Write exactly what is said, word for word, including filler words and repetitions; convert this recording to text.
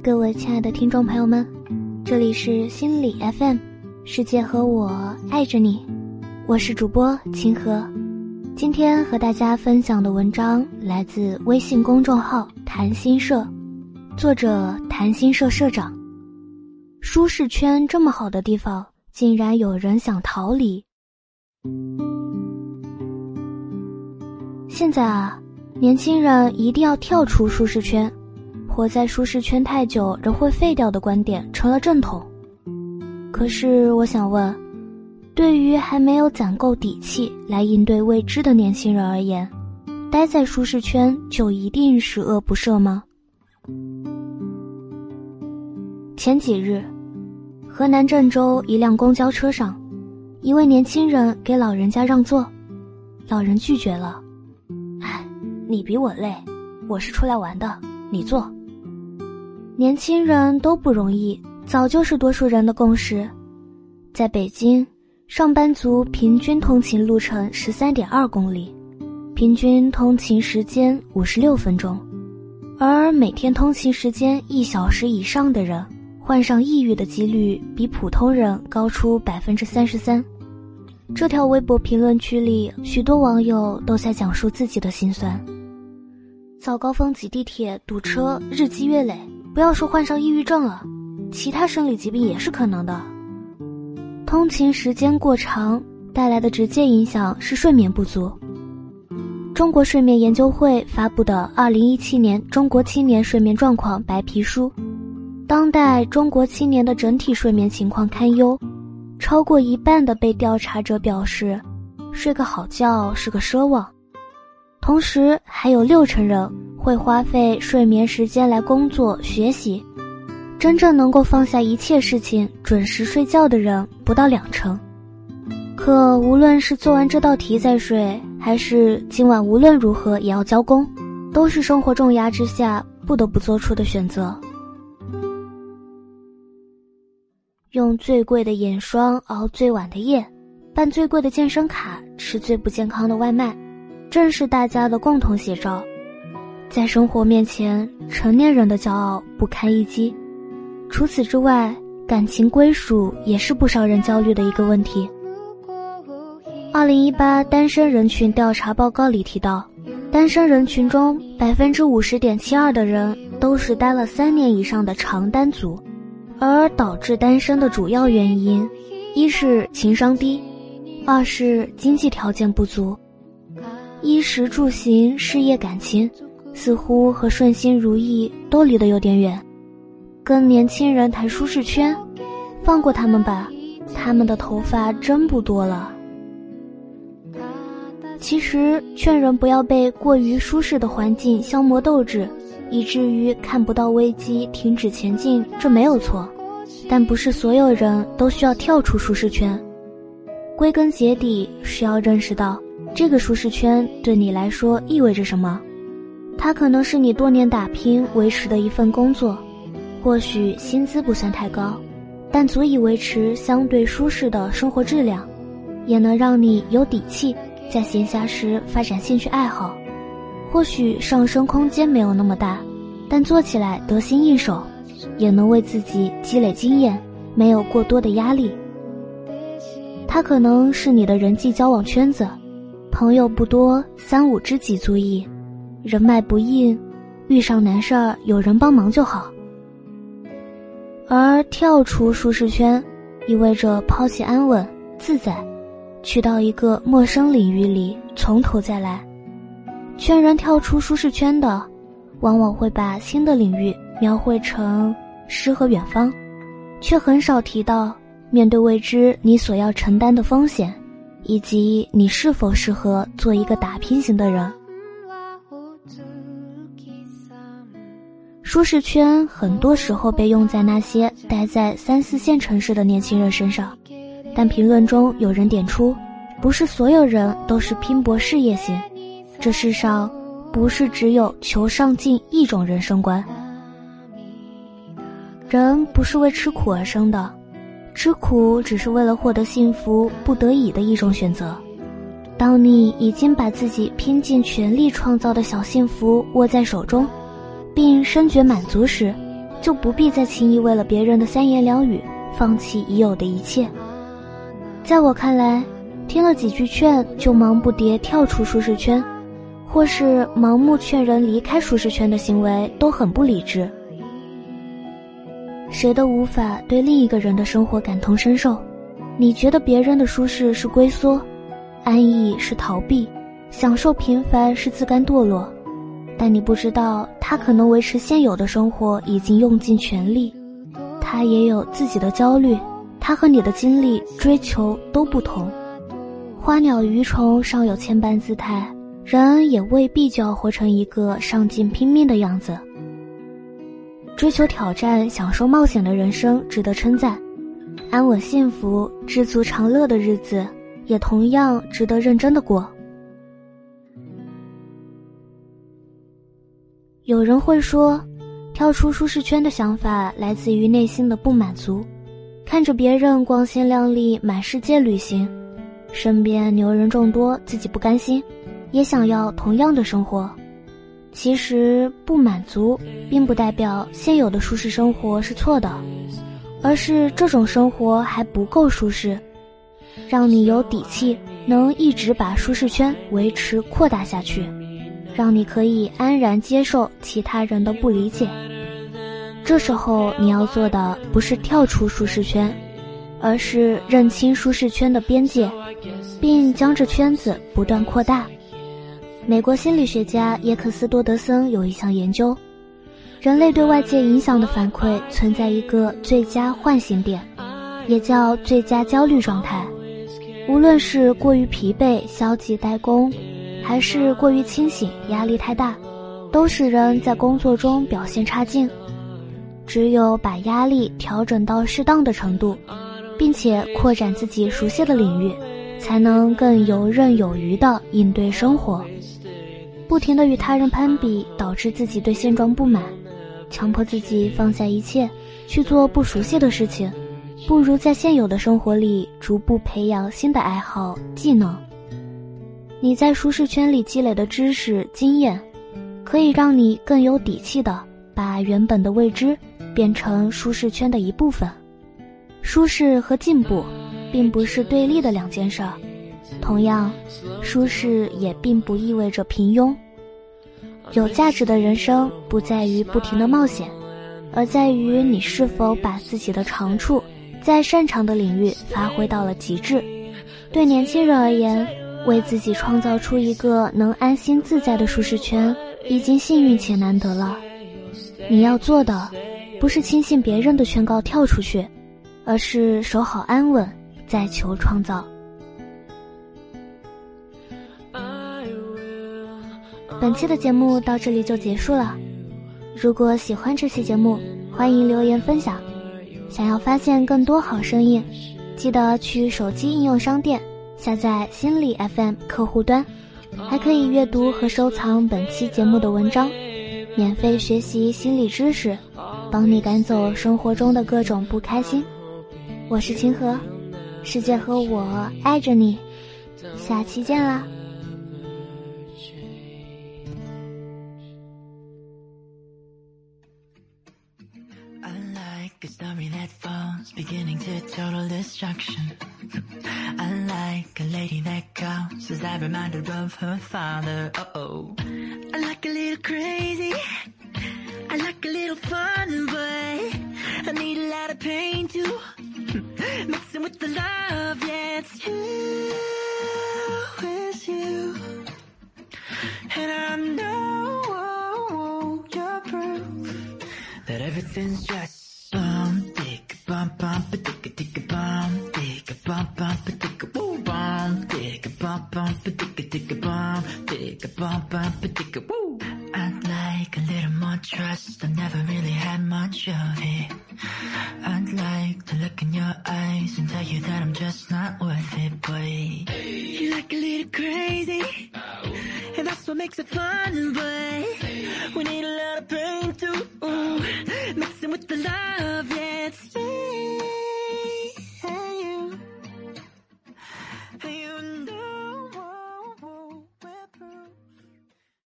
各位亲爱的听众朋友们，这里是心理 F M， 世界和我爱着你，我是主播清河。今天和大家分享的文章来自微信公众号谈心社，作者谈心社社长。舒适圈这么好的地方，竟然有人想逃离。现在啊，年轻人一定要跳出舒适圈，活在舒适圈太久人会废掉的观点成了正统。可是我想问，对于还没有攒够底气来应对未知的年轻人而言，待在舒适圈就一定十恶不赦吗？前几日，河南郑州一辆公交车上，一位年轻人给老人家让座，老人拒绝了。唉，你比我累，我是出来玩的，你坐。年轻人都不容易，早就是多数人的共识。在北京，上班族平均通勤路程 十三点二公里，平均通勤时间五十六分钟，而每天通勤时间一小时以上的人，患上抑郁的几率比普通人高出 百分之三十三。 这条微博评论区里，许多网友都在讲述自己的心酸。早高峰挤地铁堵车，日积月累，不要说患上抑郁症了，其他生理疾病也是可能的。通勤时间过长带来的直接影响是睡眠不足。中国睡眠研究会发布的二零一七年中国青年睡眠状况白皮书，当代中国青年的整体睡眠情况堪忧，超过一半的被调查者表示睡个好觉是个奢望，同时还有六成人会花费睡眠时间来工作学习，真正能够放下一切事情准时睡觉的人不到两成。可无论是做完这道题再睡，还是今晚无论如何也要交工，都是生活重压之下不得不做出的选择。用最贵的眼霜熬最晚的夜，办最贵的健身卡，吃最不健康的外卖，正是大家的共同写照。在生活面前，成年人的骄傲不堪一击。除此之外，感情归属也是不少人焦虑的一个问题。二零一八单身人群调查报告里提到，单身人群中 百分之五十点七二 的人都是待了三年以上的长单族，而导致单身的主要原因，一是情商低，二是经济条件不足。衣食住行、事业感情似乎和顺心如意都离得有点远。跟年轻人谈舒适圈，放过他们吧，他们的头发真不多了。其实劝人不要被过于舒适的环境消磨斗志，以至于看不到危机停止前进，这没有错，但不是所有人都需要跳出舒适圈。归根结底是要认识到这个舒适圈对你来说意味着什么。它可能是你多年打拼维持的一份工作，或许薪资不算太高，但足以维持相对舒适的生活质量，也能让你有底气在闲暇时发展兴趣爱好。或许上升空间没有那么大，但做起来得心应手，也能为自己积累经验，没有过多的压力。它可能是你的人际交往圈子，朋友不多，三五知己足矣，人脉不硬，遇上难事儿有人帮忙就好。而跳出舒适圈，意味着抛弃安稳自在，去到一个陌生领域里从头再来。劝人跳出舒适圈的，往往会把新的领域描绘成诗和远方，却很少提到面对未知你所要承担的风险，以及你是否适合做一个打拼型的人。舒适圈很多时候被用在那些待在三四线城市的年轻人身上，但评论中有人点出，不是所有人都是拼搏事业型，这世上不是只有求上进一种人生观。人不是为吃苦而生的，吃苦只是为了获得幸福不得已的一种选择。当你已经把自己拼尽全力创造的小幸福握在手中，并深觉满足时， 就不必再轻易为了别人的三言两语放弃已有的一切。在我看来，听了几句劝就忙不迭跳出舒适圈，或是盲目劝人离开舒适圈的行为都很不理智。谁都无法对另一个人的生活感同身受，你觉得别人的舒适是龟缩，安逸是逃避，享受平凡是自甘堕落，但你不知道他可能维持现有的生活已经用尽全力，他也有自己的焦虑，他和你的经历追求都不同。花鸟鱼虫尚有千般姿态，人也未必就要活成一个上进拼命的样子。追求挑战、享受冒险的人生值得称赞，安稳幸福、知足常乐的日子也同样值得认真的过。有人会说，跳出舒适圈的想法来自于内心的不满足，看着别人光鲜亮丽满世界旅行，身边牛人众多，自己不甘心，也想要同样的生活。其实不满足并不代表现有的舒适生活是错的，而是这种生活还不够舒适，让你有底气能一直把舒适圈维持扩大下去，让你可以安然接受其他人的不理解。这时候你要做的不是跳出舒适圈，而是认清舒适圈的边界，并将这圈子不断扩大。美国心理学家耶克斯多德森有一项研究，人类对外界影响的反馈存在一个最佳唤醒点，也叫最佳焦虑状态。无论是过于疲惫消极怠工，还是过于清醒压力太大，都使人在工作中表现差劲。只有把压力调整到适当的程度，并且扩展自己熟悉的领域，才能更游刃有余地应对生活。不停地与他人攀比，导致自己对现状不满，强迫自己放下一切去做不熟悉的事情，不如在现有的生活里逐步培养新的爱好技能。你在舒适圈里积累的知识经验，可以让你更有底气地把原本的未知变成舒适圈的一部分。舒适和进步并不是对立的两件事儿，同样，舒适也并不意味着平庸。有价值的人生不在于不停的冒险，而在于你是否把自己的长处在擅长的领域发挥到了极致。对年轻人而言，为自己创造出一个能安心自在的舒适圈，已经幸运且难得了。你要做的，不是轻信别人的劝告跳出去，而是守好安稳，再求创造。本期的节目到这里就结束了。如果喜欢这期节目，欢迎留言分享。想要发现更多好声音，记得去手机应用商店下载心理 F M 客户端，还可以阅读和收藏本期节目的文章，免费学习心理知识，帮你赶走生活中的各种不开心。我是清河，世界和我爱着你，下期见啦。 A story that falls, beginning to total destruction. I like a lady that calls, as I'm reminded of her father. Uh-oh. I like a little crazy, I like a little fun, but I need a lot of pain too, mixing with the love, yeah, it's you, it's you. And I know you're proof that everything's just bum, dick, bum, bum, ba dick, dick, bum, dick, bum, bum, ba dick, woo, bum, dick, bum, bum, ba dick, dick, bum, dick, bum, bum, ba dick, woo. I'd like a little more trust, I've never really had much of it. I'd like to look in your eyes and tell you that I'm just not worth it, but you like a little crazy, and that's what makes it fun, but we need a lot of pain too, mixing with the love, yeah, it's